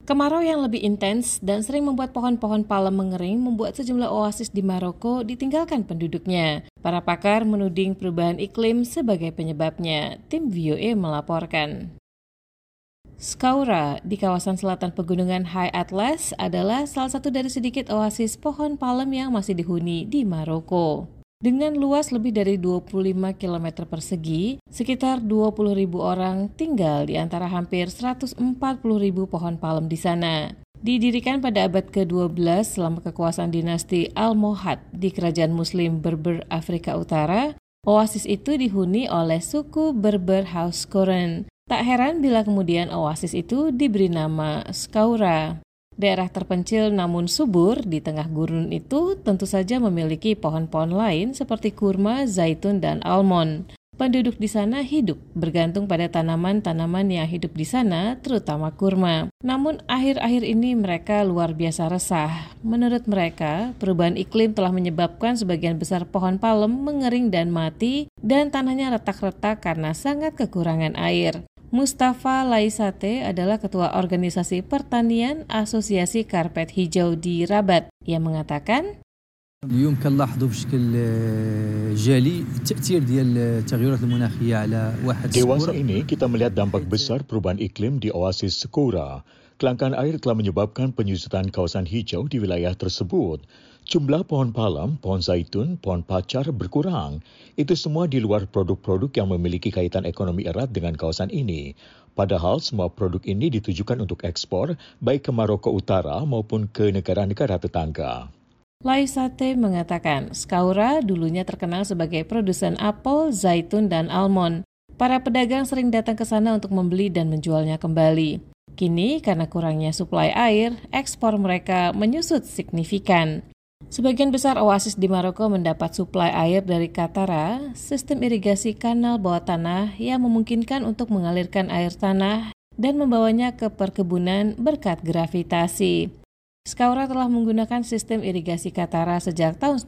Kemarau yang lebih intens dan sering membuat pohon-pohon palem mengering membuat sejumlah oasis di Maroko ditinggalkan penduduknya. Para pakar menuding perubahan iklim sebagai penyebabnya. Tim VOA melaporkan. Skaura di kawasan selatan pegunungan High Atlas adalah salah satu dari sedikit oasis pohon palem yang masih dihuni di Maroko. Dengan luas lebih dari 25 km persegi, sekitar 20.000 orang tinggal di antara hampir 140.000 pohon palem di sana. Didirikan pada abad ke-12 selama kekuasaan dinasti Almohad di kerajaan Muslim Berber Afrika Utara, oasis itu dihuni oleh suku Berber Hauskoren. Tak heran bila kemudian oasis itu diberi nama Skaura. Daerah terpencil namun subur di tengah gurun itu tentu saja memiliki pohon-pohon lain seperti kurma, zaitun, dan almond. Penduduk di sana hidup bergantung pada tanaman-tanaman yang hidup di sana, terutama kurma. Namun akhir-akhir ini mereka luar biasa resah. Menurut mereka, perubahan iklim telah menyebabkan sebagian besar pohon palem mengering dan mati, dan tanahnya retak-retak karena sangat kekurangan air. Mustafa Laisate adalah ketua organisasi pertanian Asosiasi Karpet Hijau di Rabat. Ia mengatakan, يمكن لاحظوا بشكل جالي التأثير ديال التغيرات المناخية على واحد Dewasa ini kita melihat dampak besar perubahan iklim di oasis Skaura. Kelangkaan air telah menyebabkan penyusutan kawasan hijau di wilayah tersebut. Jumlah pohon palem, pohon zaitun, pohon pacar berkurang. Itu semua di luar produk-produk yang memiliki kaitan ekonomi erat dengan kawasan ini. Padahal semua produk ini ditujukan untuk ekspor, baik ke Maroko Utara maupun ke negara-negara tetangga. Laisate mengatakan, Skaura dulunya terkenal sebagai produsen apel, zaitun, dan almond. Para pedagang sering datang ke sana untuk membeli dan menjualnya kembali. Kini, karena kurangnya suplai air, ekspor mereka menyusut signifikan. Sebagian besar oasis di Maroko mendapat suplai air dari Katara, sistem irigasi kanal bawah tanah yang memungkinkan untuk mengalirkan air tanah dan membawanya ke perkebunan berkat gravitasi. Skaura telah menggunakan sistem irigasi Katara sejak tahun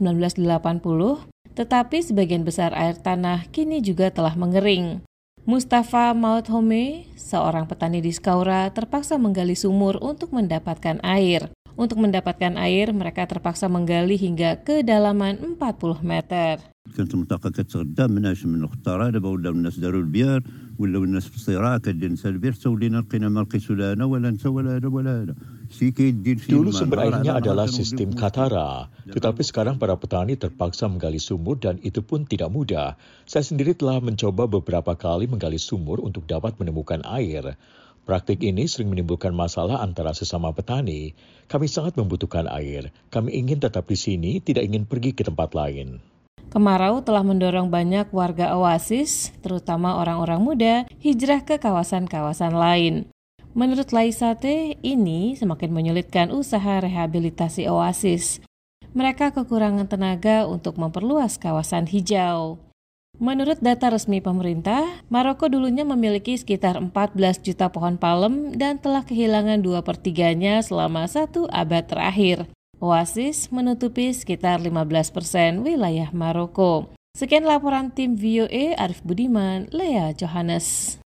1980, tetapi sebagian besar air tanah kini juga telah mengering. Mustafa Maudhome, seorang petani di Skaura, terpaksa menggali sumur untuk mendapatkan air. Untuk mendapatkan air, mereka terpaksa menggali hingga kedalaman 40 meter. كانت المنطقة كتغذى مناش من الخطارة دابا ولاو الناس داروا البيار ولاو الناس في الصراع كدير نسى البير حتى ولينا لقينا ما لقيتو لا انا ولا انت ولا هذا ولا هذا شي كيدير فيه. Dulu sumber airnya adalah sistem Katara, tetapi sekarang para petani terpaksa menggali sumur dan itu pun tidak mudah. Saya sendiri telah mencoba beberapa kali menggali sumur untuk dapat menemukan air. Praktik ini sering menimbulkan masalah antara sesama petani. Kami sangat membutuhkan air. Kami ingin tetap di sini, tidak ingin pergi ke tempat lain. Kemarau telah mendorong banyak warga oasis, terutama orang-orang muda, hijrah ke kawasan-kawasan lain. Menurut Laisate, ini semakin menyulitkan usaha rehabilitasi oasis. Mereka kekurangan tenaga untuk memperluas kawasan hijau. Menurut data resmi pemerintah, Maroko dulunya memiliki sekitar 14 juta pohon palem dan telah kehilangan 2/3-nya selama 1 abad terakhir. Oasis menutupi sekitar 15% wilayah Maroko. Sekian laporan tim VOA, Arif Budiman, Lea Johannes.